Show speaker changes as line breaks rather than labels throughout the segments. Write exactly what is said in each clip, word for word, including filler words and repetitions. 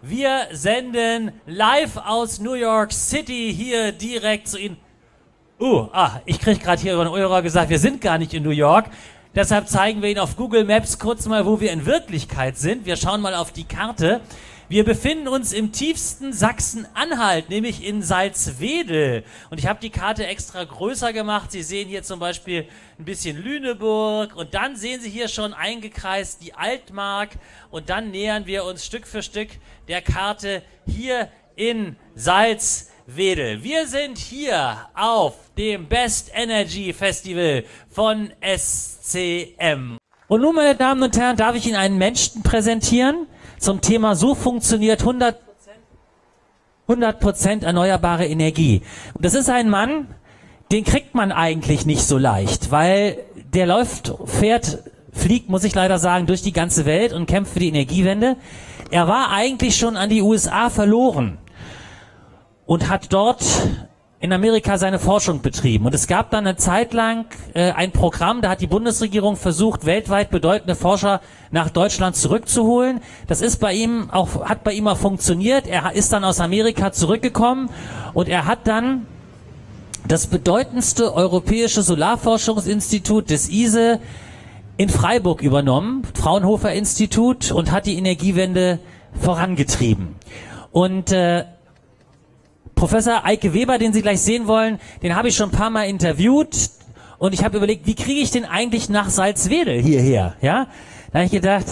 Wir senden live aus New York City hier direkt zu Ihnen. Uh, ah, ich krieg gerade hier über den Ohr gesagt, wir sind gar nicht in New York. Deshalb zeigen wir Ihnen auf Google Maps kurz mal, wo wir in Wirklichkeit sind. Wir schauen mal auf die Karte. Wir befinden uns im tiefsten Sachsen-Anhalt, nämlich in Salzwedel. Und ich habe die Karte extra größer gemacht. Sie sehen hier zum Beispiel ein bisschen Lüneburg. Und dann sehen Sie hier schon eingekreist die Altmark. Und dann nähern wir uns Stück für Stück der Karte hier in Salzwedel. Wir sind hier auf dem Best Energy Festival von S C M. Und nun, meine Damen und Herren, darf ich Ihnen einen Menschen präsentieren zum Thema so funktioniert hundert Prozent erneuerbare Energie. Und das ist ein Mann, den kriegt man eigentlich nicht so leicht, weil der läuft, fährt, fliegt, muss ich leider sagen, durch die ganze Welt und kämpft für die Energiewende. Er war eigentlich schon an die U S A verloren und hat dort in Amerika seine Forschung betrieben. Und es gab dann eine Zeit lang äh, ein Programm, da hat die Bundesregierung versucht, weltweit bedeutende Forscher nach Deutschland zurückzuholen. Das ist bei ihm auch, hat bei ihm auch funktioniert. Er ist dann aus Amerika zurückgekommen und er hat dann das bedeutendste europäische Solarforschungsinstitut des I S E in Freiburg übernommen, Fraunhofer Institut, und hat die Energiewende vorangetrieben. Und äh, Professor Eike Weber, den Sie gleich sehen wollen, den habe ich schon ein paar Mal interviewt und ich habe überlegt, wie kriege ich den eigentlich nach Salzwedel hierher? Ja, da habe ich gedacht,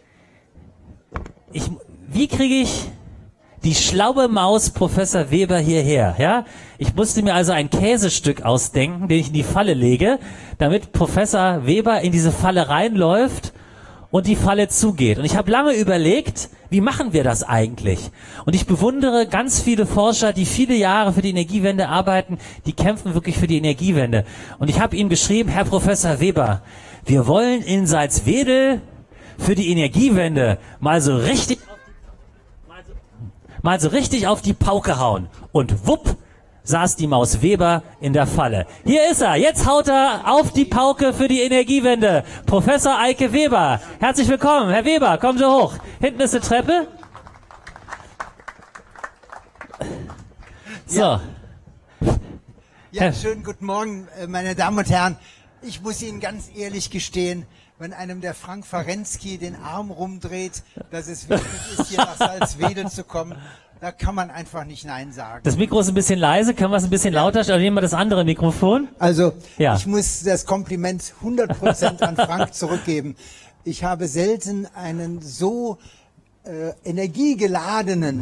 ich, wie kriege ich die schlaue Maus Professor Weber hierher? Ja, ich musste mir also ein Käsestück ausdenken, den ich in die Falle lege, damit Professor Weber in diese Falle reinläuft und die Falle zugeht. Und ich habe lange überlegt, wie machen wir das eigentlich? Und ich bewundere ganz viele Forscher, die viele Jahre für die Energiewende arbeiten, die kämpfen wirklich für die Energiewende. Und ich habe ihnen geschrieben, Herr Professor Weber, wir wollen in Salzwedel für die Energiewende mal so richtig, mal so, mal so richtig auf die Pauke hauen. Und wupp, saß die Maus Weber in der Falle. Hier ist er. Jetzt haut er auf die Pauke für die Energiewende. Professor Eike Weber. Herzlich willkommen. Herr Weber, kommen Sie hoch. Hinten ist eine Treppe. So.
Ja, ja, schönen guten Morgen, meine Damen und Herren. Ich muss Ihnen ganz ehrlich gestehen, wenn einem der Frank Farensky den Arm rumdreht, dass es wichtig ist, hier nach Salzwedel zu kommen, da kann man einfach nicht Nein sagen.
Das Mikro ist ein bisschen leise, können wir es ein bisschen lauter stellen? Oder nehmen wir das andere Mikrofon?
Also,
ja.
Ich muss das Kompliment hundert Prozent an Frank zurückgeben. Ich habe selten einen so äh, energiegeladenen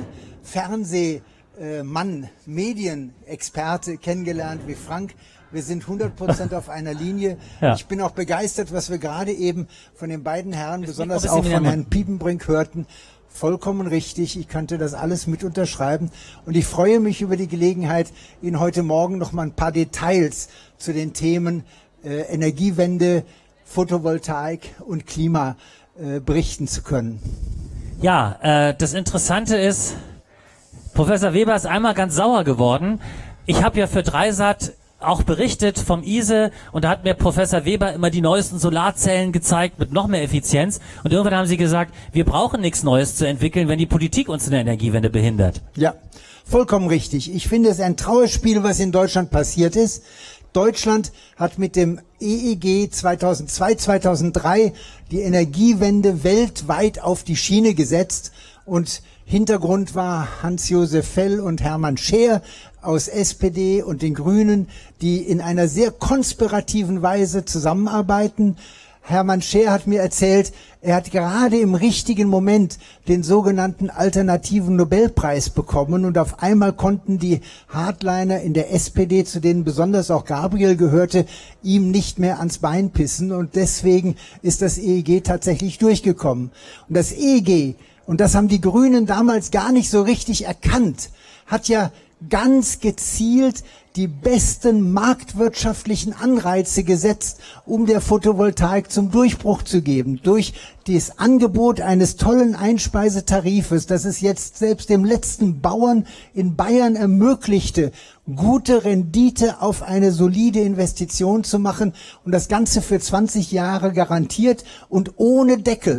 Fernsehmann, äh, Medienexperte kennengelernt wie Frank. Wir sind hundert Prozent auf einer Linie. Ja. Ich bin auch begeistert, was wir gerade eben von den beiden Herren, das besonders auch von Herrn Piepenbrink hörten. Vollkommen richtig. Ich könnte das alles mit unterschreiben. Und ich freue mich über die Gelegenheit, Ihnen heute Morgen noch mal ein paar Details zu den Themen äh, Energiewende, Photovoltaik und Klima äh, berichten zu können.
Ja, äh, das Interessante ist, Professor Weber ist einmal ganz sauer geworden. Ich habe ja für Dreisat auch berichtet vom I S E und da hat mir Professor Weber immer die neuesten Solarzellen gezeigt mit noch mehr Effizienz und irgendwann haben sie gesagt, wir brauchen nichts Neues zu entwickeln, wenn die Politik uns in der Energiewende behindert.
Ja, vollkommen richtig. Ich finde es ein Trauerspiel, was in Deutschland passiert ist. Deutschland hat mit dem E E G zweitausendzwei, zweitausenddrei die Energiewende weltweit auf die Schiene gesetzt und Hintergrund war Hans-Josef Fell und Hermann Scheer aus S P D und den Grünen, die in einer sehr konspirativen Weise zusammenarbeiten. Hermann Scheer hat mir erzählt, er hat gerade im richtigen Moment den sogenannten alternativen Nobelpreis bekommen und auf einmal konnten die Hardliner in der S P D, zu denen besonders auch Gabriel gehörte, ihm nicht mehr ans Bein pissen und deswegen ist das E E G tatsächlich durchgekommen. Und das E E G, und das haben die Grünen damals gar nicht so richtig erkannt, hat ja ganz gezielt die besten marktwirtschaftlichen Anreize gesetzt, um der Photovoltaik zum Durchbruch zu geben. Durch das Angebot eines tollen Einspeisetarifes, das es jetzt selbst dem letzten Bauern in Bayern ermöglichte, gute Rendite auf eine solide Investition zu machen und das Ganze für zwanzig Jahre garantiert und ohne Deckel.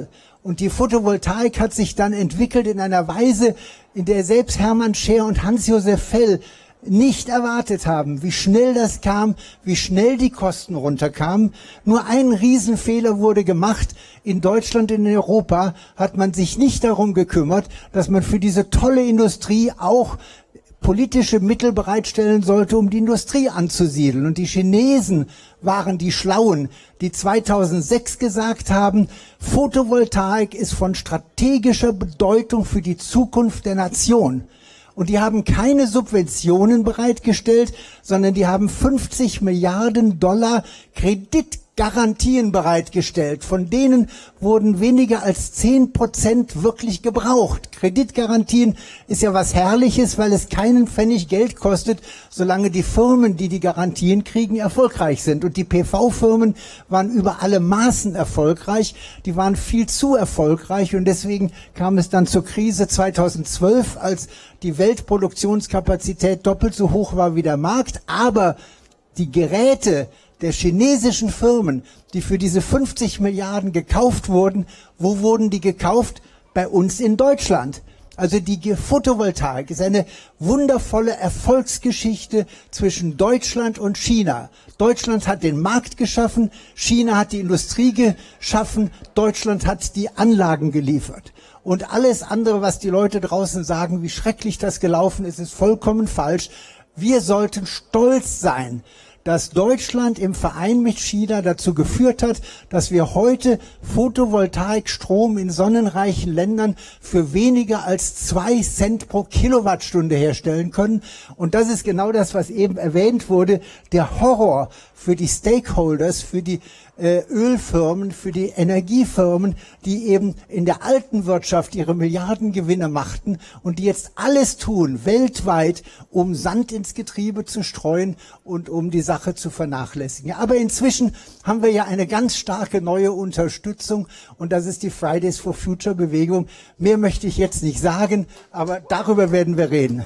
Und die Photovoltaik hat sich dann entwickelt in einer Weise, in der selbst Hermann Scher und Hans-Josef Fell nicht erwartet haben, wie schnell das kam, wie schnell die Kosten runterkamen. Nur ein Riesenfehler wurde gemacht. In Deutschland und in Europa hat man sich nicht darum gekümmert, dass man für diese tolle Industrie auch politische Mittel bereitstellen sollte, um die Industrie anzusiedeln. Und die Chinesen waren die Schlauen, die zweitausendsechs gesagt haben, Photovoltaik ist von strategischer Bedeutung für die Zukunft der Nation. Und die haben keine Subventionen bereitgestellt, sondern die haben fünfzig Milliarden Dollar Kreditgarantien bereitgestellt. Von denen wurden weniger als zehn Prozent wirklich gebraucht. Kreditgarantien ist ja was Herrliches, weil es keinen Pfennig Geld kostet, solange die Firmen, die die Garantien kriegen, erfolgreich sind. Und die P V-Firmen waren über alle Maßen erfolgreich. Die waren viel zu erfolgreich und deswegen kam es dann zur Krise zweitausendzwölf, als die Weltproduktionskapazität doppelt so hoch war wie der Markt, aber die Geräte der chinesischen Firmen, die für diese fünfzig Milliarden gekauft wurden, wo wurden die gekauft? Bei uns in Deutschland. Also die Photovoltaik ist eine wundervolle Erfolgsgeschichte zwischen Deutschland und China. Deutschland hat den Markt geschaffen, China hat die Industrie geschaffen, Deutschland hat die Anlagen geliefert. Und alles andere, was die Leute draußen sagen, wie schrecklich das gelaufen ist, ist vollkommen falsch. Wir sollten stolz sein, dass Deutschland im Verein mit China dazu geführt hat, dass wir heute Photovoltaikstrom in sonnenreichen Ländern für weniger als zwei Cent pro Kilowattstunde herstellen können. Und das ist genau das, was eben erwähnt wurde, der Horror für die Stakeholders, für die äh, Ölfirmen, für die Energiefirmen, die eben in der alten Wirtschaft ihre Milliardengewinne machten und die jetzt alles tun, weltweit, um Sand ins Getriebe zu streuen und um die Sache zu vernachlässigen. Aber inzwischen haben wir ja eine ganz starke neue Unterstützung und das ist die Fridays for Future Bewegung. Mehr möchte ich jetzt nicht sagen, aber darüber werden wir reden.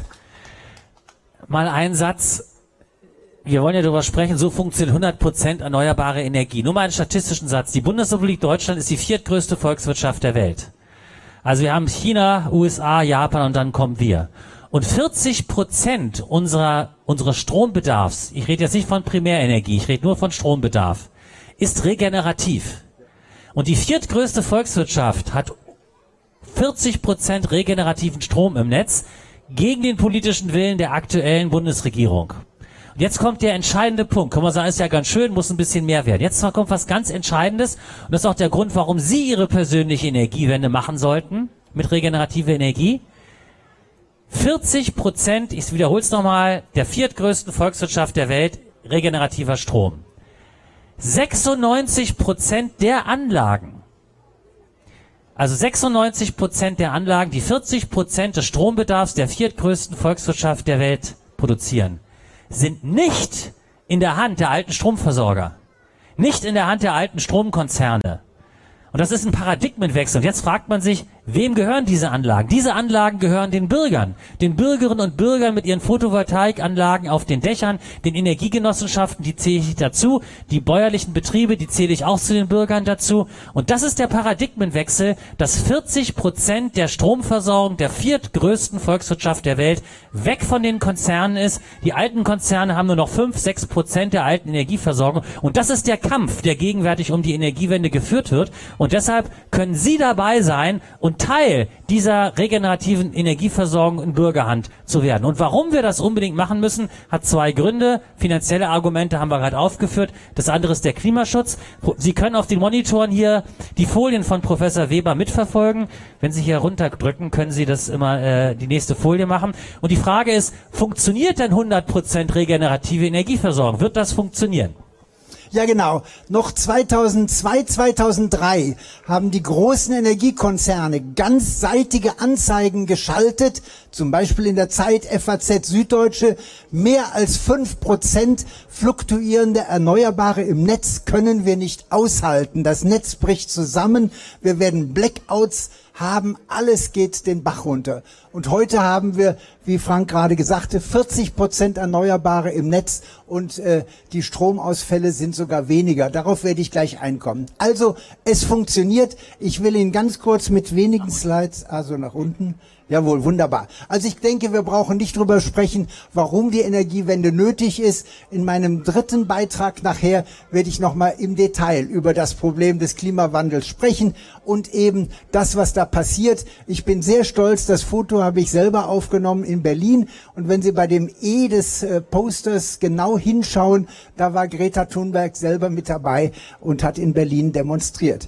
Mal ein Satz. Wir wollen ja darüber sprechen, so funktioniert hundert Prozent erneuerbare Energie. Nur mal einen statistischen Satz. Die Bundesrepublik Deutschland ist die viertgrößte Volkswirtschaft der Welt. Also wir haben China, U S A, Japan und dann kommen wir. Und vierzig Prozent unserer, unseres Strombedarfs, ich rede jetzt nicht von Primärenergie, ich rede nur von Strombedarf, ist regenerativ. Und die viertgrößte Volkswirtschaft hat vierzig Prozent regenerativen Strom im Netz gegen den politischen Willen der aktuellen Bundesregierung. Und jetzt kommt der entscheidende Punkt. Kann man sagen, ist ja ganz schön, muss ein bisschen mehr werden. Jetzt kommt was ganz Entscheidendes. Und das ist auch der Grund, warum Sie Ihre persönliche Energiewende machen sollten mit regenerativer Energie. vierzig Prozent, ich wiederhole es nochmal, der viertgrößten Volkswirtschaft der Welt, regenerativer Strom. sechsundneunzig Prozent der Anlagen, also sechsundneunzig Prozent der Anlagen, die vierzig Prozent des Strombedarfs der viertgrößten Volkswirtschaft der Welt produzieren, sind nicht in der Hand der alten Stromversorger, nicht in der Hand der alten Stromkonzerne. Und das ist ein Paradigmenwechsel. Und jetzt fragt man sich, wem gehören diese Anlagen? Diese Anlagen gehören den Bürgern, den Bürgerinnen und Bürgern mit ihren Photovoltaikanlagen auf den Dächern, den Energiegenossenschaften, die zähle ich dazu, die bäuerlichen Betriebe, die zähle ich auch zu den Bürgern dazu. Und das ist der Paradigmenwechsel, dass vierzig Prozent der Stromversorgung der viertgrößten Volkswirtschaft der Welt weg von den Konzernen ist. Die alten Konzerne haben nur noch fünf, sechs Prozent der alten Energieversorgung. Und das ist der Kampf, der gegenwärtig um die Energiewende geführt wird. Und deshalb können Sie dabei sein und Teil dieser regenerativen Energieversorgung in Bürgerhand zu werden. Und warum wir das unbedingt machen müssen, hat zwei Gründe. Finanzielle Argumente haben wir gerade aufgeführt. Das andere ist der Klimaschutz. Sie können auf den Monitoren hier die Folien von Professor Weber mitverfolgen. Wenn Sie hier runterdrücken, können Sie das immer äh, die nächste Folie machen. Und die Frage ist, funktioniert denn hundert Prozent regenerative Energieversorgung? Wird das funktionieren?
Ja, genau. Noch zweitausendzwei, zweitausenddrei haben die großen Energiekonzerne ganzseitige Anzeigen geschaltet, zum Beispiel in der Zeit F A Z Süddeutsche. Mehr als fünf Prozent fluktuierende Erneuerbare im Netz können wir nicht aushalten. Das Netz bricht zusammen, wir werden Blackouts haben, alles geht den Bach runter. Und heute haben wir wie Frank gerade sagte, vierzig Prozent Erneuerbare im Netz und äh, die Stromausfälle sind sogar weniger. Darauf werde ich gleich einkommen. Also, es funktioniert. Ich will Ihnen ganz kurz mit wenigen Slides, also nach unten. Jawohl, wunderbar. Also ich denke, wir brauchen nicht drüber sprechen, warum die Energiewende nötig ist. In meinem dritten Beitrag nachher werde ich nochmal im Detail über das Problem des Klimawandels sprechen und eben das, was da passiert. Ich bin sehr stolz, das Foto habe ich selber aufgenommen in Berlin. Und wenn Sie bei dem E des äh, Posters genau hinschauen, da war Greta Thunberg selber mit dabei und hat in Berlin demonstriert.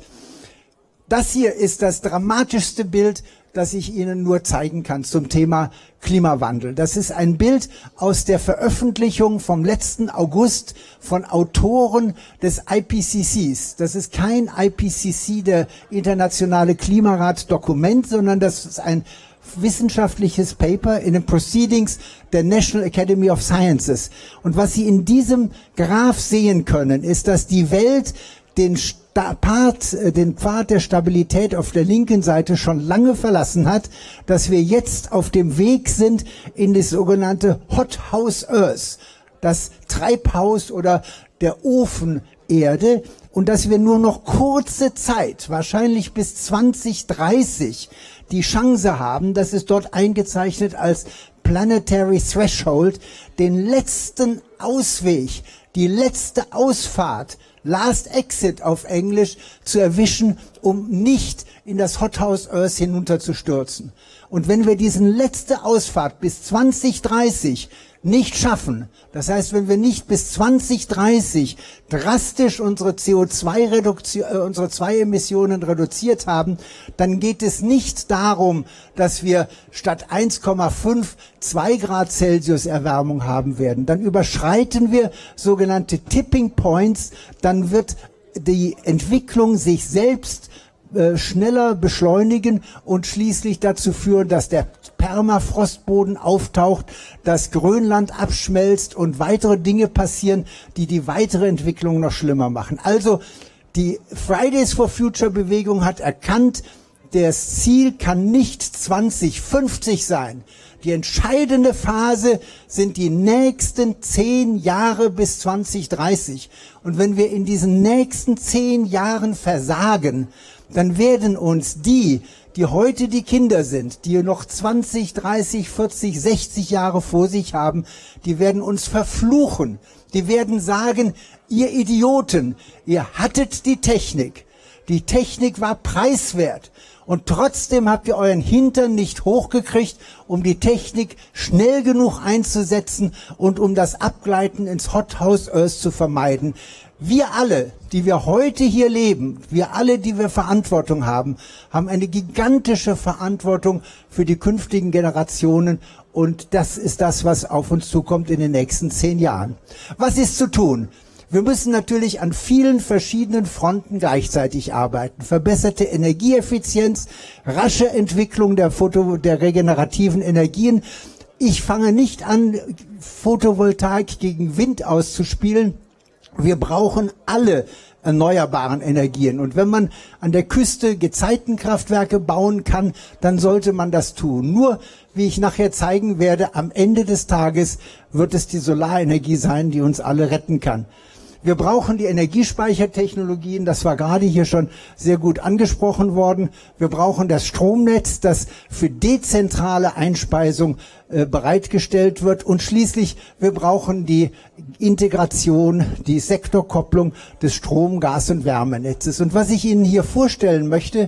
Das hier ist das dramatischste Bild, das ich Ihnen nur zeigen kann zum Thema Klimawandel. Das ist ein Bild aus der Veröffentlichung vom letzten August von Autoren des I P C Cs. Das ist kein I P C C, der internationale Klimarat-Dokument, sondern das ist ein wissenschaftliches Paper in den Proceedings der National Academy of Sciences. Und was Sie in diesem Graph sehen können, ist, dass die Welt den Part, den Pfad der Stabilität auf der linken Seite schon lange verlassen hat, dass wir jetzt auf dem Weg sind in das sogenannte Hot House Earth, das Treibhaus oder der Ofen Erde, und dass wir nur noch kurze Zeit, wahrscheinlich bis zwanzig dreißig, die Chance haben, das ist dort eingezeichnet als Planetary Threshold, den letzten Ausweg, die letzte Ausfahrt, Last Exit auf Englisch, zu erwischen, um nicht in das Hot House Earth hinunterzustürzen. Und wenn wir diesen letzte Ausfahrt bis zwanzig dreißig nicht schaffen, das heißt, wenn wir nicht bis zwanzig dreißig drastisch unsere C O zwei Reduktion, äh, unsere zwei Emissionen reduziert haben, dann geht es nicht darum, dass wir statt eins Komma fünf zwei Grad Celsius Erwärmung haben werden. Dann überschreiten wir sogenannte Tipping Points, dann wird die Entwicklung sich selbst äh, schneller beschleunigen und schließlich dazu führen, dass der Permafrostboden auftaucht, dass Grönland abschmelzt und weitere Dinge passieren, die die weitere Entwicklung noch schlimmer machen. Also die Fridays for Future Bewegung hat erkannt, das Ziel kann nicht zwanzig fünfzig sein. Die entscheidende Phase sind die nächsten zehn Jahre bis zwanzig dreißig. Und wenn wir in diesen nächsten zehn Jahren versagen, dann werden uns die, die heute die Kinder sind, die noch zwanzig, dreißig, vierzig, sechzig Jahre vor sich haben, die werden uns verfluchen. Die werden sagen, ihr Idioten, ihr hattet die Technik. Die Technik war preiswert. Und trotzdem habt ihr euren Hintern nicht hochgekriegt, um die Technik schnell genug einzusetzen und um das Abgleiten ins Hot House Earth zu vermeiden. Wir alle, die wir heute hier leben, wir alle, die wir Verantwortung haben, haben eine gigantische Verantwortung für die künftigen Generationen. Und das ist das, was auf uns zukommt in den nächsten zehn Jahren. Was ist zu tun? Wir müssen natürlich an vielen verschiedenen Fronten gleichzeitig arbeiten. Verbesserte Energieeffizienz, rasche Entwicklung der Foto, der regenerativen Energien. Ich fange nicht an, Photovoltaik gegen Wind auszuspielen. Wir brauchen alle erneuerbaren Energien. Und wenn man an der Küste Gezeitenkraftwerke bauen kann, dann sollte man das tun. Nur, wie ich nachher zeigen werde, am Ende des Tages wird es die Solarenergie sein, die uns alle retten kann. Wir brauchen die Energiespeichertechnologien, das war gerade hier schon sehr gut angesprochen worden. Wir brauchen das Stromnetz, das für dezentrale Einspeisung äh, bereitgestellt wird. Und schließlich, wir brauchen die Integration, die Sektorkopplung des Strom-, Gas- und Wärmenetzes. Und was ich Ihnen hier vorstellen möchte,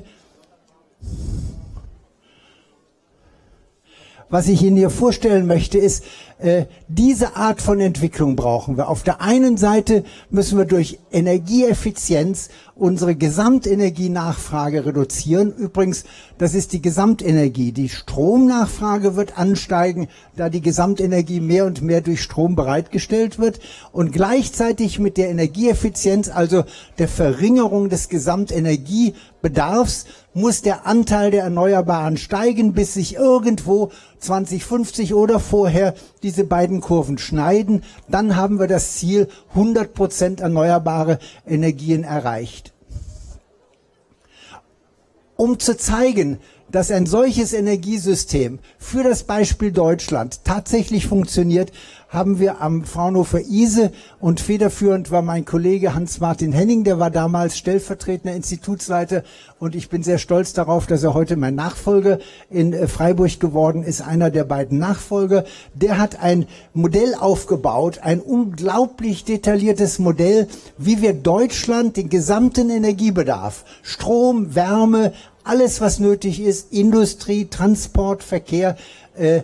was ich Ihnen hier vorstellen möchte, ist, äh, diese Art von Entwicklung brauchen wir. Auf der einen Seite müssen wir durch Energieeffizienz unsere Gesamtenergienachfrage reduzieren. Übrigens, das ist die Gesamtenergie. Die Stromnachfrage wird ansteigen, da die Gesamtenergie mehr und mehr durch Strom bereitgestellt wird. Und gleichzeitig mit der Energieeffizienz, also der Verringerung des Gesamtenergiebedarfs, muss der Anteil der Erneuerbaren steigen, bis sich irgendwo zwanzig fünfzig oder vorher diese beiden Kurven schneiden. Dann haben wir das Ziel hundert Prozent erneuerbare Energien erreicht. Um zu zeigen, dass ein solches Energiesystem für das Beispiel Deutschland tatsächlich funktioniert, haben wir am Fraunhofer I S E und federführend war mein Kollege Hans-Martin Henning, der war damals stellvertretender Institutsleiter und ich bin sehr stolz darauf, dass er heute mein Nachfolger in Freiburg geworden ist, einer der beiden Nachfolger. Der hat ein Modell aufgebaut, ein unglaublich detailliertes Modell, wie wir Deutschland den gesamten Energiebedarf, Strom, Wärme, alles was nötig ist, Industrie, Transport, Verkehr, äh,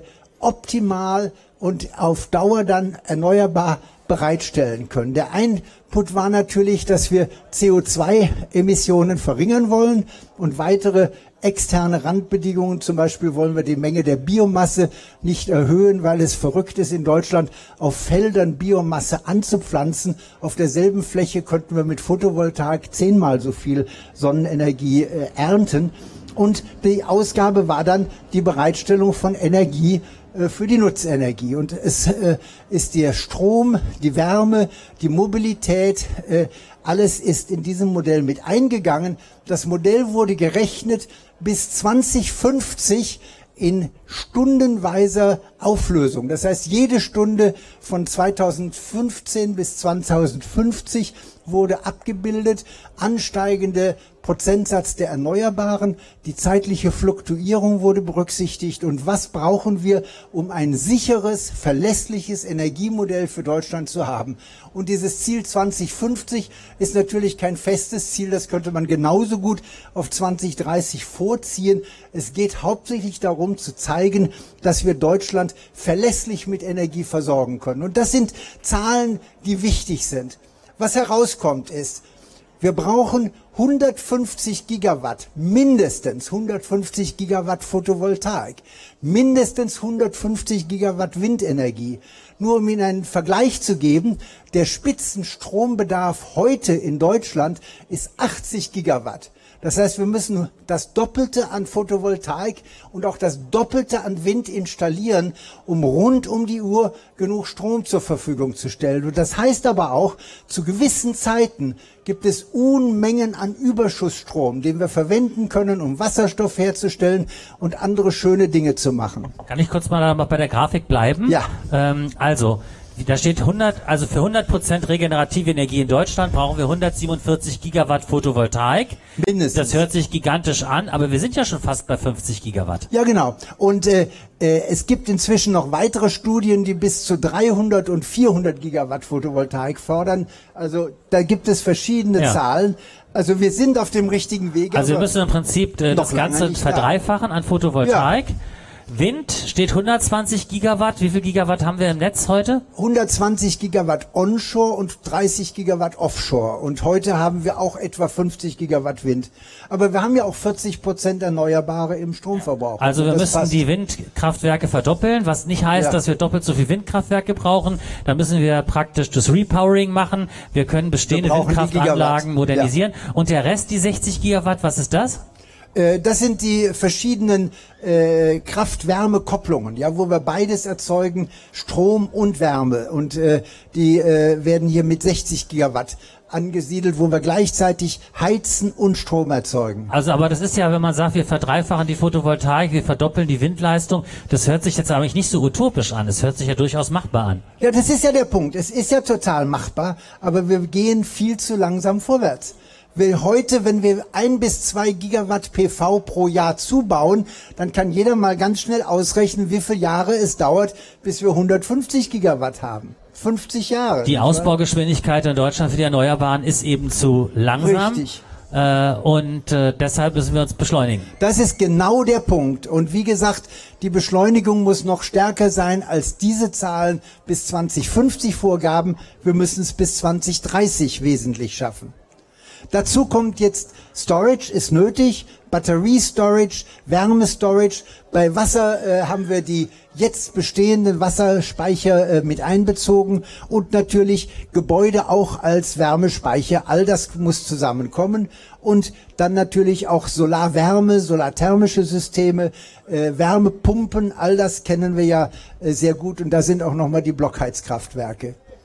optimal und auf Dauer dann erneuerbar bereitstellen können. Der Input war natürlich, dass wir C O zwei Emissionen verringern wollen und weitere externe Randbedingungen. Zum Beispiel wollen wir die Menge der Biomasse nicht erhöhen, weil es verrückt ist, in Deutschland auf Feldern Biomasse anzupflanzen. Auf derselben Fläche könnten wir mit Photovoltaik zehnmal so viel Sonnenenergie äh, ernten. Und die Ausgabe war dann die Bereitstellung von Energie äh, für die Nutzenergie. Und es äh, ist der Strom, die Wärme, die Mobilität, äh, alles ist in diesem Modell mit eingegangen. Das Modell wurde gerechnet bis zwanzig fünfzig in stundenweiser Auflösung. Das heißt, jede Stunde von zweitausendfünfzehn bis zweitausendfünfzig wurde abgebildet, ansteigende Prozentsatz der Erneuerbaren, die zeitliche Fluktuierung wurde berücksichtigt und was brauchen wir, um ein sicheres, verlässliches Energiemodell für Deutschland zu haben. Und dieses Ziel zwanzig fünfzig ist natürlich kein festes Ziel, das könnte man genauso gut auf zwanzig dreißig vorziehen. Es geht hauptsächlich darum zu zeigen, dass wir Deutschland verlässlich mit Energie versorgen können. Und das sind Zahlen, die wichtig sind. Was herauskommt ist, wir brauchen hundertfünfzig Gigawatt, mindestens hundertfünfzig Gigawatt Photovoltaik, mindestens hundertfünfzig Gigawatt Windenergie. Nur um Ihnen einen Vergleich zu geben, der Spitzenstrombedarf heute in Deutschland ist achtzig Gigawatt. Das heißt, wir müssen das Doppelte an Photovoltaik und auch das Doppelte an Wind installieren, um rund um die Uhr genug Strom zur Verfügung zu stellen. Und das heißt aber auch, zu gewissen Zeiten gibt es Unmengen an Überschussstrom, den wir verwenden können, um Wasserstoff herzustellen und andere schöne Dinge zu machen.
Kann ich kurz mal bei der Grafik bleiben?
Ja.
Ähm, also, da steht hundert, also für hundert Prozent regenerative Energie in Deutschland brauchen wir hundertsiebenundvierzig Gigawatt Photovoltaik.
Mindestens.
Das hört sich gigantisch an, aber wir sind ja schon fast bei fünfzig Gigawatt.
Ja, genau. Und äh, äh, es gibt inzwischen noch weitere Studien, die bis zu dreihundert und vierhundert Gigawatt Photovoltaik fordern. Also da gibt es verschiedene
Ja.
Zahlen. Also wir sind auf dem richtigen Weg.
Also wir müssen im Prinzip äh, das Ganze verdreifachen an Photovoltaik. Ja. Wind steht hundertzwanzig Gigawatt. Wie viel Gigawatt haben wir im Netz heute?
hundertzwanzig Gigawatt onshore und dreißig Gigawatt offshore. Und heute haben wir auch etwa fünfzig Gigawatt Wind. Aber wir haben ja auch vierzig Prozent Erneuerbare im Stromverbrauch.
Also wir
das
müssen
passt.
die Windkraftwerke verdoppeln, was nicht heißt,
Ja.
dass wir doppelt so viel Windkraftwerke brauchen. Da müssen wir praktisch das Repowering machen. Wir können bestehende
Wir brauchen die
Windkraftanlagen
Gigawatt.
modernisieren. Und der Rest, die sechzig Gigawatt, was ist das?
Äh, Das sind die verschiedenen äh, Kraft-Wärme-Kopplungen, ja, wo wir beides erzeugen, Strom und Wärme. Und äh, die äh, werden hier mit sechzig Gigawatt angesiedelt, wo wir gleichzeitig heizen und Strom erzeugen.
Also, aber das ist ja, wenn man sagt, wir verdreifachen die Photovoltaik, wir verdoppeln die Windleistung, das hört sich jetzt eigentlich nicht so utopisch an. Es hört sich ja durchaus machbar an.
Ja, das ist ja der Punkt. Es ist ja total machbar, aber wir gehen viel zu langsam vorwärts. Wir heute, wenn wir ein bis zwei Gigawatt P V pro Jahr zubauen, dann kann jeder mal ganz schnell ausrechnen, wie viele Jahre es dauert, bis wir hundertfünfzig Gigawatt haben. fünfzig Jahre.
Die Ausbaugeschwindigkeit in Deutschland für die Erneuerbaren ist eben zu langsam.
Richtig.
Äh, und äh, deshalb müssen wir uns beschleunigen.
Das ist genau der Punkt. Und wie gesagt, die Beschleunigung muss noch stärker sein als diese Zahlen bis zwanzig fünfzig Vorgaben. Wir müssen es bis zwanzig dreißig wesentlich schaffen. Dazu kommt jetzt Storage ist nötig, Batteriestorage, Wärmestorage. Bei Wasser äh, haben wir die jetzt bestehenden Wasserspeicher äh, mit einbezogen und natürlich Gebäude auch als Wärmespeicher. All das muss zusammenkommen und dann natürlich auch Solarwärme, solarthermische Systeme, äh, Wärmepumpen. All das kennen wir ja äh, sehr gut und da sind auch nochmal die Blockheizkraftwerke.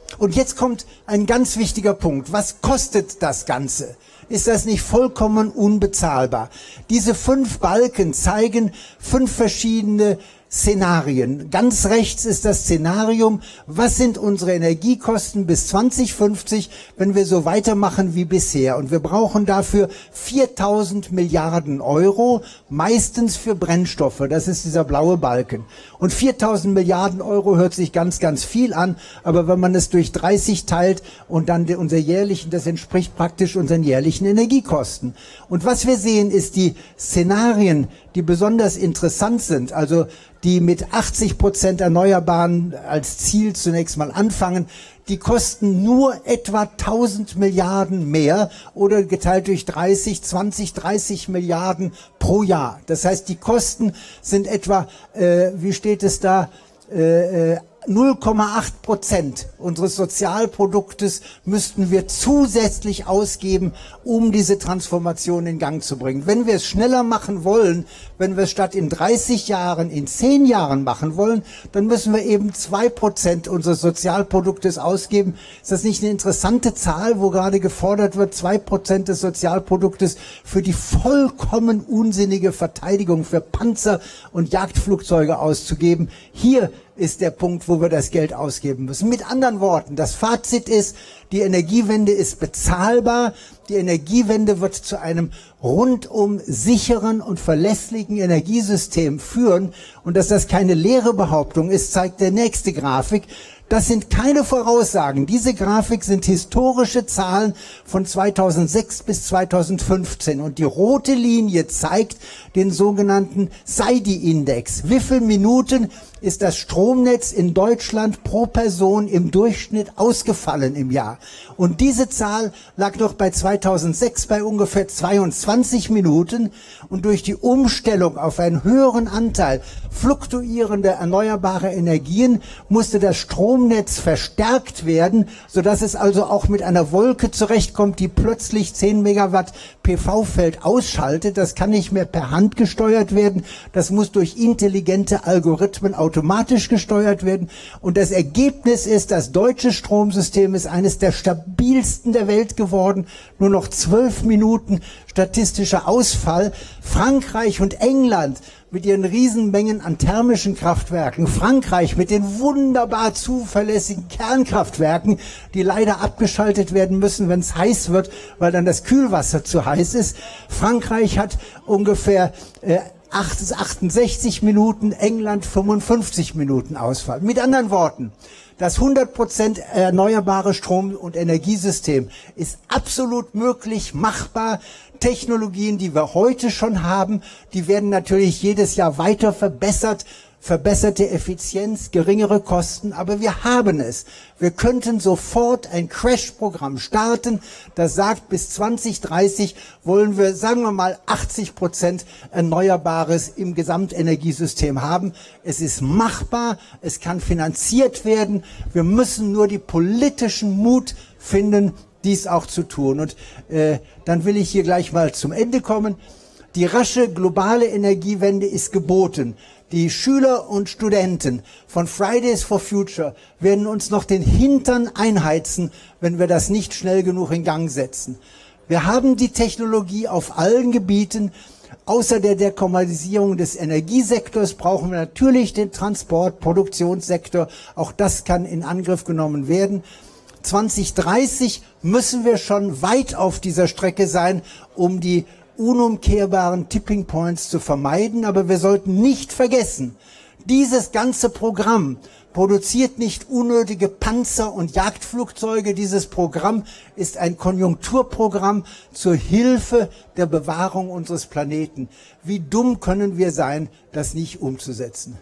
Und jetzt kommt ein ganz wichtiger Punkt. Was kostet das Ganze? Ist das nicht vollkommen unbezahlbar? Diese fünf Balken zeigen fünf verschiedene Szenarien. Ganz rechts ist das Szenarium, was sind unsere Energiekosten bis zwanzig fünfzig, wenn wir so weitermachen wie bisher. Und wir brauchen dafür viertausend Milliarden Euro, meistens für Brennstoffe. Das ist dieser blaue Balken. Und viertausend Milliarden Euro hört sich ganz, ganz viel an, aber wenn man es durch dreißig teilt und dann unser jährlichen, das entspricht praktisch unseren jährlichen Energiekosten. Und was wir sehen, ist die Szenarien, die besonders interessant sind, also die mit achtzig Prozent Erneuerbaren als Ziel zunächst mal anfangen, die kosten nur etwa tausend Milliarden mehr oder geteilt durch dreißig, zwanzig, dreißig Milliarden pro Jahr. Das heißt, die Kosten sind etwa, äh, wie steht es da, äh, null Komma acht Prozent unseres Sozialproduktes müssten wir zusätzlich ausgeben, um diese Transformation in Gang zu bringen. Wenn wir es schneller machen wollen, wenn wir es statt in dreißig Jahren in zehn Jahren machen wollen, dann müssen wir eben zwei Prozent unseres Sozialproduktes ausgeben. Ist das nicht eine interessante Zahl, wo gerade gefordert wird, zwei Prozent des Sozialproduktes für die vollkommen unsinnige Verteidigung für Panzer und Jagdflugzeuge auszugeben? Hier ist der Punkt, wo wir das Geld ausgeben müssen. Mit anderen Worten, das Fazit ist, die Energiewende ist bezahlbar. Die Energiewende wird zu einem rundum sicheren und verlässlichen Energiesystem führen. Und dass das keine leere Behauptung ist, zeigt der nächste Grafik. Das sind keine Voraussagen. Diese Grafik sind historische Zahlen von zweitausendsechs bis zweitausendfünfzehn. Und die rote Linie zeigt den sogenannten S E I D I-Index. Wie viele Minuten ist das Stromnetz in Deutschland pro Person im Durchschnitt ausgefallen im Jahr? Und diese Zahl lag noch bei zweitausendsechs bei ungefähr zweiundzwanzig Minuten. Und durch die Umstellung auf einen höheren Anteil fluktuierender erneuerbarer Energien musste das Stromnetz verstärkt werden, sodass es also auch mit einer Wolke zurechtkommt, die plötzlich zehn Megawatt P V-Feld ausschaltet. Das kann nicht mehr per Hand gesteuert werden. Das muss durch intelligente Algorithmen automatisch gesteuert werden. Und das Ergebnis ist, das deutsche Stromsystem ist eines der stabilsten der Welt geworden. Nur noch zwölf Minuten statistischer Ausfall. Frankreich und England mit ihren Riesenmengen an thermischen Kraftwerken, Frankreich mit den wunderbar zuverlässigen Kernkraftwerken, die leider abgeschaltet werden müssen, wenn es heiß wird, weil dann das Kühlwasser zu heiß ist. Frankreich hat ungefähr äh, achtundsechzig Minuten, England fünfundfünfzig Minuten Ausfall. Mit anderen Worten, das hundert Prozent erneuerbare Strom- und Energiesystem ist absolut möglich, machbar. Technologien, die wir heute schon haben, die werden natürlich jedes Jahr weiter verbessert. Verbesserte Effizienz, geringere Kosten, aber wir haben es. Wir könnten sofort ein Crash-Programm starten, das sagt, bis zwanzig dreißig wollen wir, sagen wir mal, achtzig Prozent Erneuerbares im Gesamtenergiesystem haben. Es ist machbar, es kann finanziert werden. Wir müssen nur die politischen Mut finden, dies auch zu tun. Und äh, dann will ich hier gleich mal zum Ende kommen. Die rasche globale Energiewende ist geboten. Die Schüler und Studenten von Fridays for Future werden uns noch den Hintern einheizen, wenn wir das nicht schnell genug in Gang setzen. Wir haben die Technologie auf allen Gebieten. Außer der Dekommerzialisierung des Energiesektors brauchen wir natürlich den Transport-, Produktionssektor. Auch das kann in Angriff genommen werden. zwanzig dreißig müssen wir schon weit auf dieser Strecke sein, um die unumkehrbaren Tipping Points zu vermeiden. Aber wir sollten nicht vergessen, dieses ganze Programm produziert nicht unnötige Panzer und Jagdflugzeuge. Dieses Programm ist ein Konjunkturprogramm zur Hilfe der Bewahrung unseres Planeten. Wie dumm können wir sein, das nicht umzusetzen?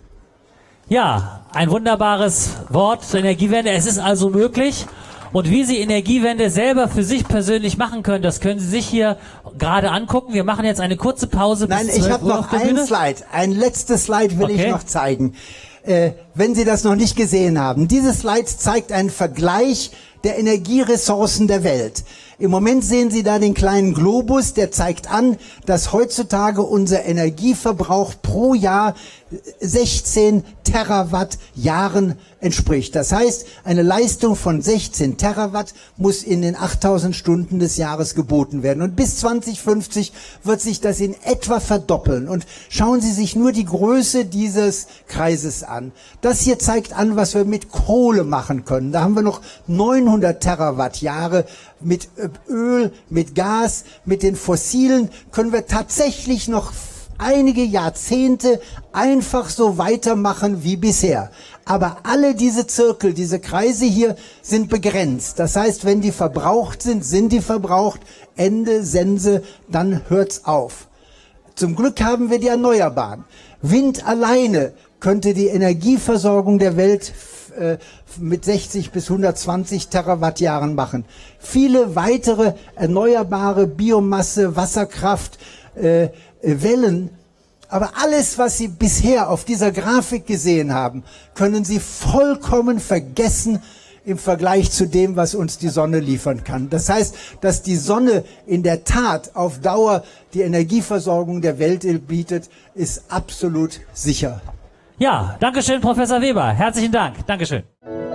Ja, ein wunderbares Wort zur Energiewende. Es ist also möglich. Und wie Sie Energiewende selber für sich persönlich machen können, das können Sie sich hier gerade angucken. Wir machen jetzt eine kurze Pause.
Nein, ich habe noch ein Slide. Ein letztes Slide will okay. ich noch zeigen. Äh, wenn Sie das noch nicht gesehen haben. Dieses Slide zeigt einen Vergleich der Energieressourcen der Welt. Im Moment sehen Sie da den kleinen Globus, der zeigt an, dass heutzutage unser Energieverbrauch pro Jahr sechzehn Terawatt Jahren entspricht. Das heißt, eine Leistung von sechzehn Terawatt muss in den achttausend Stunden des Jahres geboten werden. Und bis zwanzig fünfzig wird sich das in etwa verdoppeln. Und schauen Sie sich nur die Größe dieses Kreises an. Das hier zeigt an, was wir mit Kohle machen können. Da haben wir noch neunhundert Terawatt Jahre. Mit Öl, mit Gas, mit den Fossilen können wir tatsächlich noch einige Jahrzehnte einfach so weitermachen wie bisher. Aber alle diese Zirkel, diese Kreise hier sind begrenzt. Das heißt, wenn die verbraucht sind, sind die verbraucht. Ende, Sense, dann hört's auf. Zum Glück haben wir die Erneuerbaren. Wind alleine könnte die Energieversorgung der Welt äh, mit sechzig bis hundertzwanzig Terawattjahren machen. Viele weitere erneuerbare Biomasse, Wasserkraft, äh, Wellen, aber alles, was Sie bisher auf dieser Grafik gesehen haben, können Sie vollkommen vergessen im Vergleich zu dem, was uns die Sonne liefern kann. Das heißt, dass die Sonne in der Tat auf Dauer die Energieversorgung der Welt bietet, ist absolut sicher.
Ja, Dankeschön, Professor Weber. Herzlichen Dank. Dankeschön.